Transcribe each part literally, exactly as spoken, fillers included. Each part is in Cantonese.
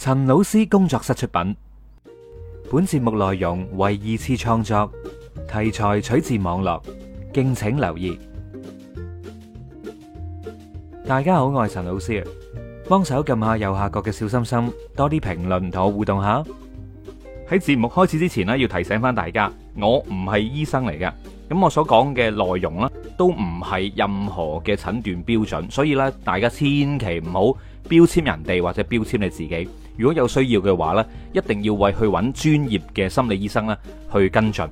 陳老師工作室出品，本節目內容為二次創作，題材取自網絡，敬請留意。大家好，我係陳老師啊，幫手撳下右下角嘅小心心，多啲評論同我互動下。喺節目開始之前呢，要提醒翻大家，我唔係醫生嚟噶，咁我所講嘅內容呢，都唔係任何嘅診斷標準，所以咧，大家千祈唔好標籤人哋或者標籤你自己。如果有需要嘅話咧，一定要為去揾專業嘅心理醫生咧去跟進。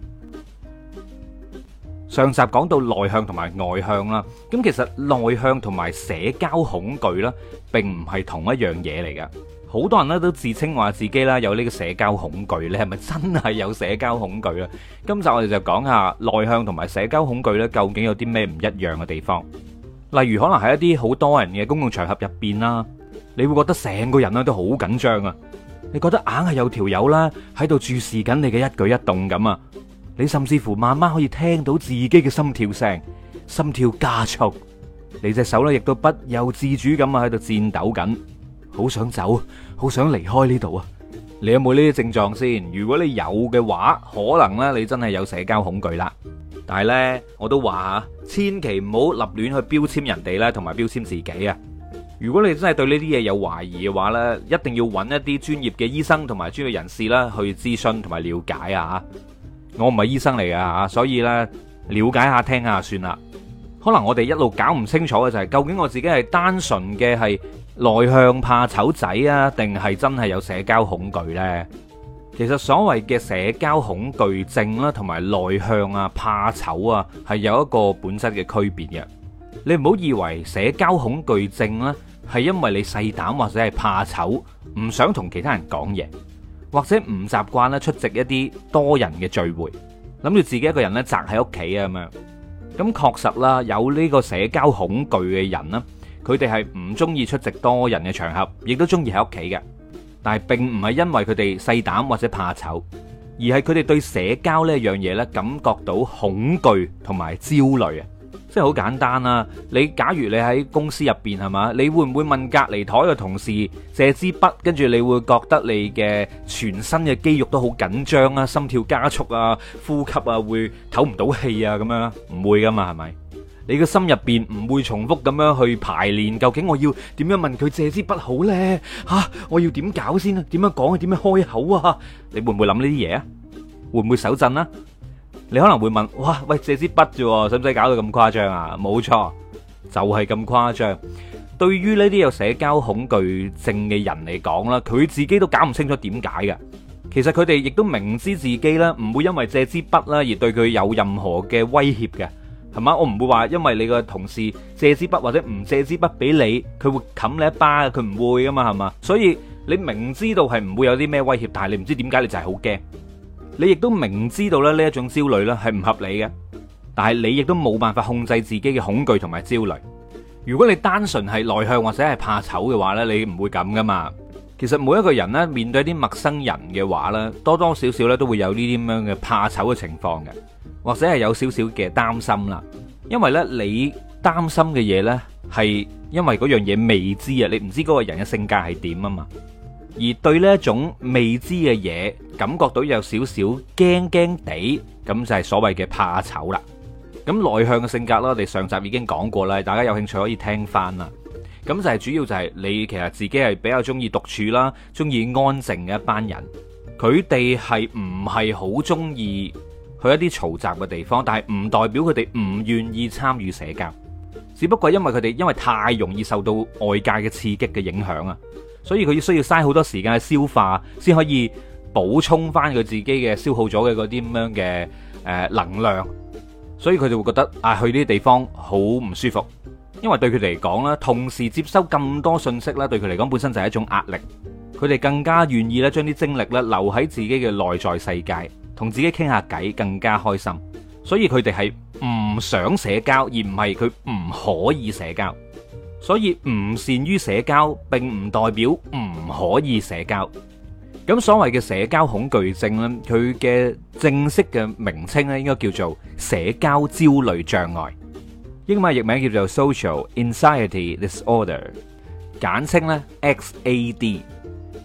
上集講到內向同埋外向啦，咁其實內向同埋社交恐懼咧，並唔係同一樣嘢嚟噶。好多人咧都自稱話自己啦有呢個社交恐懼，你係咪真係有社交恐懼啊？今集我哋就講下內向同埋社交恐懼咧，究竟有啲咩唔一樣嘅地方？例如可能喺一啲好多人嘅公共場合入邊啦。你會覺得成個人咧都好緊張啊！你覺得硬係有條友啦喺度注視緊你嘅一舉一動咁啊！你甚至乎慢慢可以聽到自己嘅心跳聲，心跳加速，你隻手咧亦都不由自主咁啊喺度顫抖緊，好想走，好想離開呢度啊！你有冇呢啲症狀先？如果你有嘅話，可能咧你真係有社交恐懼啦。但係咧，我都話千祈唔好立亂去標籤人哋咧，同埋標籤自己啊！如果你真係對呢啲嘢有懷疑嘅話呢，一定要揾一啲專業嘅醫生同埋專業人士啦去諮詢同埋了解啊！我唔係醫生嚟噶吓，所以呢，了解下聽下算啦。可能我哋一路搞唔清楚嘅就係，究竟我自己係單純嘅係內向怕醜仔啊，定係真係有社交恐懼呢？其實所謂嘅社交恐懼症啦，同埋內向啊、怕醜啊，係有一個本質嘅區別嘅。你唔好以為社交恐懼症呢，係因為你細膽或者係怕醜，唔想同其他人講嘢，或者唔習慣咧出席一啲多人嘅聚會，諗住自己一個人咧宅喺屋企啊咁樣。咁確實啦，有呢個社交恐懼嘅人呢，佢哋係唔中意出席多人嘅場合，亦都中意喺屋企嘅。但係並唔係因為佢哋細膽或者怕醜，而係佢哋對社交呢樣嘢咧感覺到恐懼同埋焦慮啊！即係好簡單啦，你假如你喺公司入邊係嘛，你會唔會問隔離台嘅同事借支筆，跟住你會覺得你嘅全身嘅肌肉都好緊張啊，心跳加速啊，呼吸啊會唞唔到氣啊咁樣？唔會噶嘛，係咪？你嘅心入邊唔會重複咁樣去排練，究竟我要點樣問佢借支筆好呢？吓、啊，我要點搞先啊？點樣講啊？點樣開口啊？你會唔會諗呢啲嘢啊？會唔會手震啊？你可能會問，哇，喂，借支筆啫，使唔使搞到咁誇張啊？冇錯，就係咁誇張。對於呢啲有社交恐懼症嘅人嚟講啦，佢自己都搞唔清楚點解嘅。其實佢哋亦都明知自己咧唔會因為借支筆啦而對佢有任何嘅威脅嘅，係嘛？我唔會話因為你個同事借支筆或者唔借支筆俾你，佢會冚你一巴，佢唔會噶嘛，係嘛？所以你明知道係唔會有啲咩威脅，但係你唔知點解你就係好驚。你亦都明知道咧呢一種焦慮咧係唔合理嘅，但係你亦都冇辦法控制自己嘅恐懼同埋焦慮。如果你單純係內向或者係怕醜嘅話咧，你唔會咁噶嘛。其實每一個人咧面對啲陌生人嘅話咧，多多少少咧都會有呢啲咁樣嘅怕醜嘅情況嘅，或者係有少少嘅擔心啦。因為咧你擔心嘅嘢咧係因為嗰樣嘢未知啊，你唔知嗰個人嘅性格係點啊嘛。而對呢一種未知嘅嘢感覺到有少少驚驚地，咁就係所謂嘅怕醜啦。咁內向嘅性格啦，我哋上集已經講過啦，大家有興趣可以聽翻啦。咁就係主要就係你其實自己係比較中意獨處啦，中意安靜嘅一班人。佢哋係唔係好中意去一啲嘈雜嘅地方，但係唔代表佢哋唔願意參與社交，只不過因為佢哋因為太容易受到外界嘅刺激嘅影響啊。所以佢需要嘥好多時間去消化，先可以補充翻佢自己嘅消耗咗嘅嗰啲咁樣嘅誒能量。所以佢哋會覺得啊，去呢啲地方好唔舒服，因為對佢哋嚟講咧，同時接收咁多信息咧，對佢嚟講本身就係一種壓力。佢哋更加願意咧將啲精力咧留喺自己嘅內在世界，同自己傾下偈，更加開心。所以佢哋係唔想社交，而唔係佢唔可以社交。所以唔善於社交並唔代表唔可以社交。咁所謂嘅社交恐懼症咧，佢嘅正式嘅名稱咧應該叫做社交焦慮障礙，英文譯名叫做 Social Anxiety Disorder， 簡稱咧 X A D。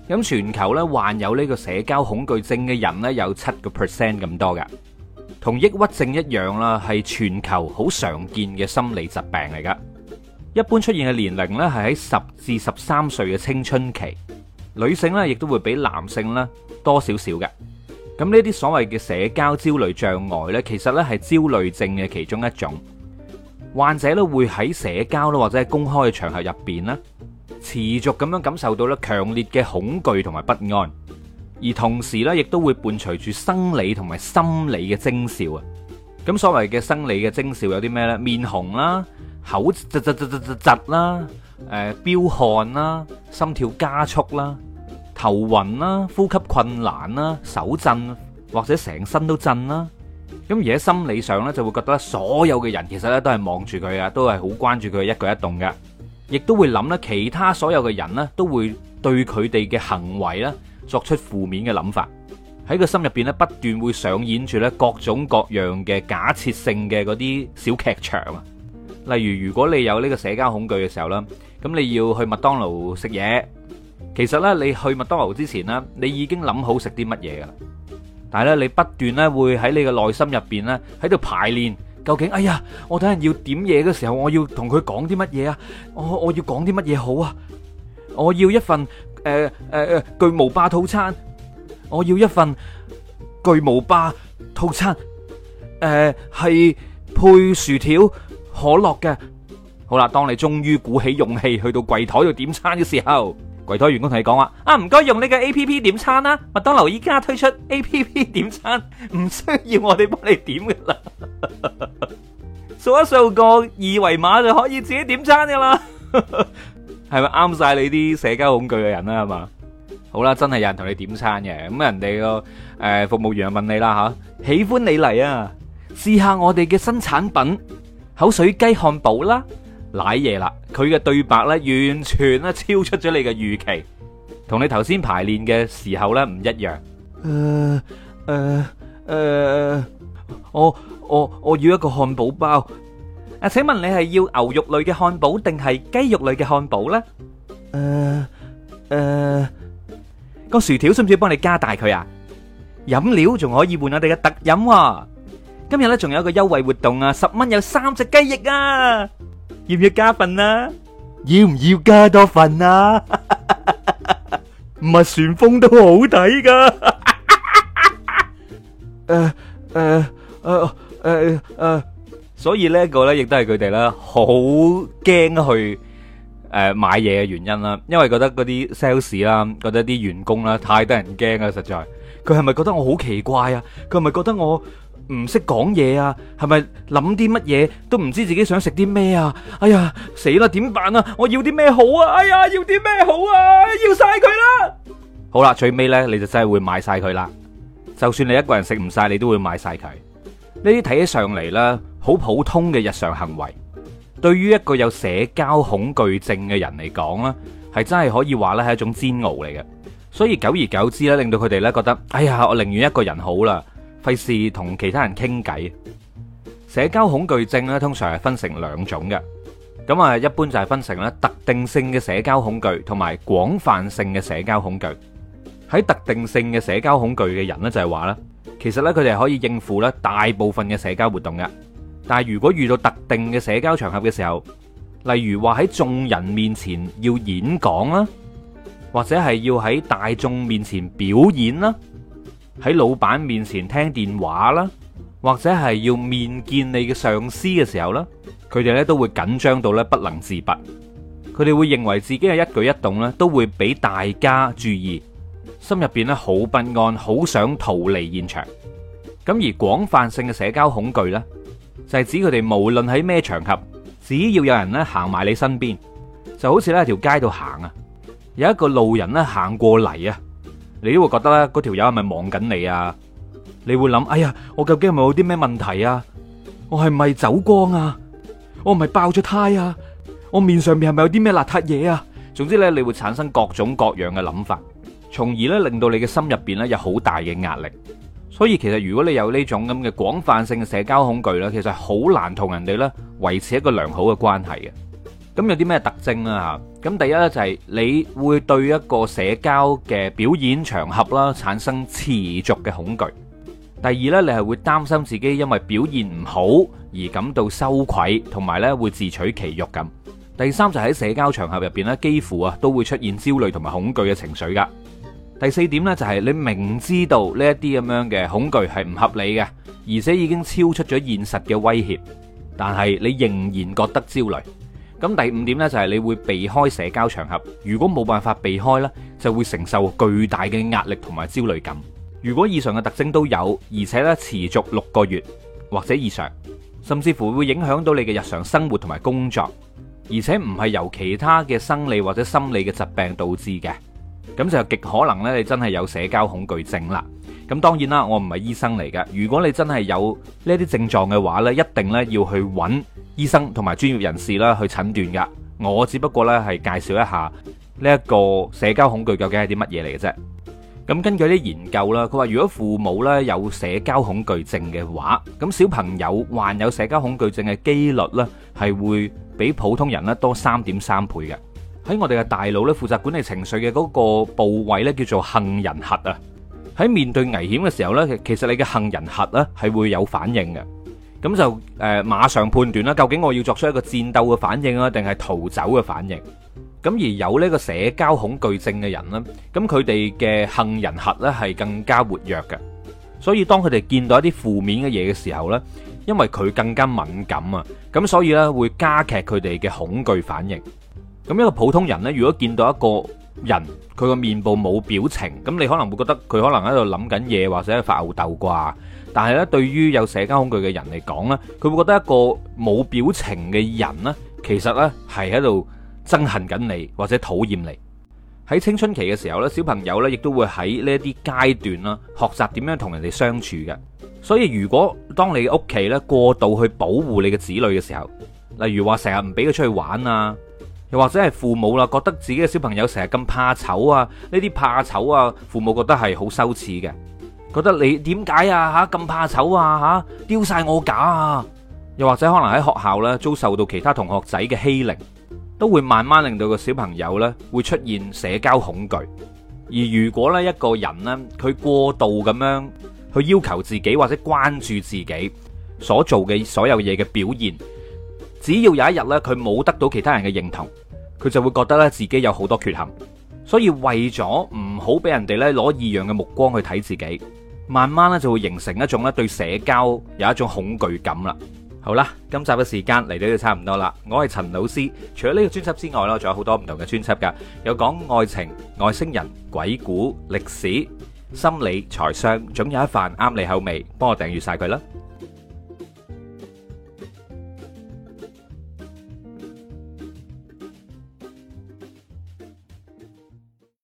咁全球咧患有呢個社交恐懼症嘅人咧有七個 percent 咁多噶，同抑鬱症一樣啦，係全球好常見嘅心理疾病嚟噶。一般出現嘅年齡咧係喺十至十三歲嘅青春期，女性咧亦都會比男性咧多少少嘅。咁呢啲所謂嘅社交焦慮障礙咧，其實咧係焦慮症嘅其中一種。患者咧會喺社交啦或者係公開嘅場合入邊咧，持續咁樣感受到咧強烈嘅恐懼同埋不安，而同時咧亦都會伴隨住生理同埋心理嘅徵兆啊。咁所謂嘅生理嘅徵兆有啲咩呢？面紅啦、口窒窒窒窒窒窒啦、誒飆汗啦、心跳加速啦、頭暈啦、呼吸困難啦、手震或者成身都震啦。咁而喺心理上咧，就會覺得所有嘅人其實咧都係望住佢啊，都係好關注佢嘅一舉一動嘅，亦都會諗咧其他所有嘅人咧都會對佢哋嘅行為咧作出負面嘅諗法，喺個心入邊咧不斷會上演住咧各種各樣嘅假設性嘅嗰啲小劇場啊。例如如果你有呢個社交恐懼嘅時候啦，咁你要去麥當勞食嘢，其實咧你去麥當勞之前咧，你已經諗好食啲乜嘢噶啦。但係咧，你不斷咧會喺你嘅內心入邊咧喺度排練，究竟哎呀，我等陣要點嘢嘅時候，我要同佢講啲乜嘢啊？我我要講啲乜嘢好啊？我要一份誒誒誒巨無霸套餐，我要一份巨無霸套餐，誒係配薯條可樂嘅。好啦，當你終於鼓起勇氣去到櫃台度點餐嘅時候，櫃台員工同你講話啊，唔該用呢個 A P P 點餐啦，麥當勞依家推出 A P P 點餐，唔需要我哋幫你點噶啦，掃一掃個二維碼就可以自己點餐噶啦，係咪啱晒你啲社交恐懼嘅人啦？係嘛？好啦，真係有人同你點餐嘅，咁人哋個誒服務員就問你啦吓，喜歡你嚟啊，試下我哋嘅新產品口水雞漢堡啦。瀨嘢啦，佢嘅對白咧完全咧超出咗你嘅預期，同你頭先排練嘅時候咧唔一樣。誒誒誒，我我我要一個漢堡包。啊，請問你係要牛肉類嘅漢堡定係雞肉類嘅漢堡咧？誒誒，個薯條需唔需要幫你加大佢啊？飲料仲可以換我哋嘅特飲喎。今日咧仲有一個優惠活動啊，十蚊有三隻雞翼啊！要唔要加份啊？要唔要加多份啊？麥旋風都好睇噶。誒誒誒誒誒，所以呢一個咧，亦都係佢哋咧好驚去誒買嘢嘅原因啦。因為覺得嗰啲 sales 啦，覺得啲員工啦太得人驚啊！實在，佢係咪覺得我好奇怪啊？佢係咪覺得我唔識講嘢啊？係咪諗啲乜嘢都唔知自己想食啲咩啊？哎呀，死啦！點辦啊？我要啲咩好啊？哎呀，要啲咩好啊？要晒佢啦！好啦，最尾呢，你就真係會買晒佢啦。就算你一個人食唔晒，你都會買晒佢。呢啲睇起上嚟呢，好普通嘅日常行為，對於一個有社交恐懼症嘅人嚟講呢，係真係可以話呢係一種煎熬嚟嘅。所以久而久之呢，令到佢哋呢覺得，哎呀，我寧願一個人好啦。費事同其他人傾偈。社交恐懼症咧，通常係分成兩種嘅。咁啊，一般就係分成咧特定性嘅社交恐懼同埋廣泛性嘅社交恐懼。喺特定性嘅社交恐懼嘅人咧，就係話咧，其實咧佢哋係可以應付咧大部分嘅社交活動嘅。但係如果遇到特定嘅社交場合嘅時候，例如話喺眾人面前要演講啦，或者係要喺大眾面前表演啦，喺老闆面前聽電話啦，或者係要面見你嘅上司嘅時候啦，佢哋咧都會緊張到咧不能自拔。佢哋會認為自己嘅一舉一動咧都會俾大家注意，心入邊咧好不安，好想逃離現場。咁而廣泛性嘅社交恐懼呢，就係指佢哋無論喺咩場合，只要有人咧行埋你身邊，就好似咧喺條街度行啊，有一個路人咧行過嚟啊，你都會覺得咧，嗰條友係咪望緊你啊？你會諗，哎呀，我究竟係咪有啲咩問題啊？我係咪走光啊？我係咪爆咗胎啊？我面上面係咪有啲咩邋遢嘢啊？總之咧，你會產生各種各樣嘅諗法，從而咧令到你嘅心入邊咧有好大嘅壓力。所以其實如果你有呢種咁嘅廣泛性嘅社交恐懼咧，其實好難同人哋咧維持一個良好嘅關係嘅。 咁有啲咩特徵啦吓？咁第一咧就係你會對一個社交嘅表演場合啦產生持續嘅恐懼。第二咧，你係會擔心自己因為表現唔好而感到羞愧，同埋咧會自取其辱咁。第三就喺社交場合入邊咧，幾乎啊都會出現焦慮同埋恐懼嘅情緒噶。第四點咧就係你明知道呢一啲咁樣嘅恐懼係唔合理嘅，而且已經超出咗現實嘅威脅，但係你仍然覺得焦慮。咁第五點呢，就係你會避開社交場合，如果冇辦法避開呢，就會承受巨大嘅壓力同埋焦慮感。如果以上嘅特徵都有，而且咧持續六個月或者以上，甚至乎會影響到你嘅日常生活同埋工作，而且唔係由其他嘅生理或者心理嘅疾病導致嘅，咁就極可能咧你真係有社交恐懼症啦。咁當然啦，我唔係醫生嚟嘅。如果你真係有呢啲症狀嘅話呢，一定咧要去揾醫生同埋專業人士啦去診斷噶。我只不過呢係介紹一下呢一個社交恐懼究竟係啲乜嘢嚟嘅啫。咁根據啲研究啦，佢話如果父母呢有社交恐懼症嘅話，咁小朋友患有社交恐懼症嘅機率呢係會比普通人呢多三點三倍嘅。喺我哋嘅大腦呢，負責管理情緒嘅嗰個部位呢叫做杏仁核啊。喺面對危險嘅時候呢，其實你嘅杏仁核呢係會有反應嘅，咁就誒、呃、馬上判斷啦，究竟我要作出一個戰鬥嘅反應啊，定係逃走嘅反應。咁而有呢個社交恐懼症嘅人呢，咁佢哋嘅杏仁核呢係更加活躍嘅，所以當佢哋見到一啲負面嘅嘢嘅時候呢，因為佢更加敏感啊，咁所以呢會加劇佢哋嘅恐懼反應。咁一個普通人呢，如果見到一個人佢個面部冇表情，咁你可能會覺得佢可能喺度諗緊嘢，或者係發吽竇啩。但係咧，對於有社交恐懼嘅人嚟講呢，佢會覺得一個冇表情嘅人呢，其實呢係喺度憎恨緊你或者討厭你。喺青春期嘅時候呢，小朋友呢亦都會喺呢一啲階段啦，學習點樣同人哋相處嘅。所以如果當你屋企呢過度去保護你嘅子女嘅時候，例如話成日唔俾佢出去玩啊，又或者係父母啦，覺得自己嘅小朋友成日咁怕醜啊，呢啲怕醜啊，父母覺得係好羞恥嘅，覺得你點解啊吓咁怕醜啊吓，丟晒我架啊，又或者可能喺學校咧遭受到其他同學仔嘅欺凌，都會慢慢令到個小朋友咧會出現社交恐懼。而如果咧一個人咧佢過度咁樣去要求自己或者關注自己所做嘅所有嘢嘅表現，只要有一日咧佢冇得到其他人嘅認同，佢就會覺得咧自己有好多缺陷。所以為咗唔好俾人哋咧攞異樣嘅目光去睇自己，慢慢咧就會形成一種咧對社交有一種恐懼感啦。好啦，今集嘅時間嚟到就差唔多啦。我係陳老師，除咗呢個專輯之外啦，仲有好多唔同嘅專輯噶，有講愛情、外星人、鬼故、歷史、心理、財商，總有一瓣啱你口味，幫我訂閱晒佢啦。